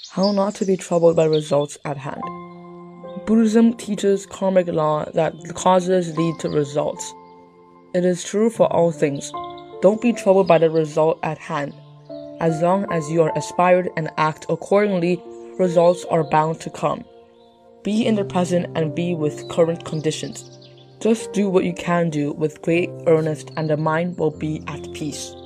How not to be troubled by results at hand. Buddhism teaches karmic law that causes lead to results. It is true for all things. Don't be troubled by the result at hand. As long as you are inspired and act accordingly, results are bound to come. Be in the present and be with current conditions. Just do what you can do with great earnest and the mind will be at peace.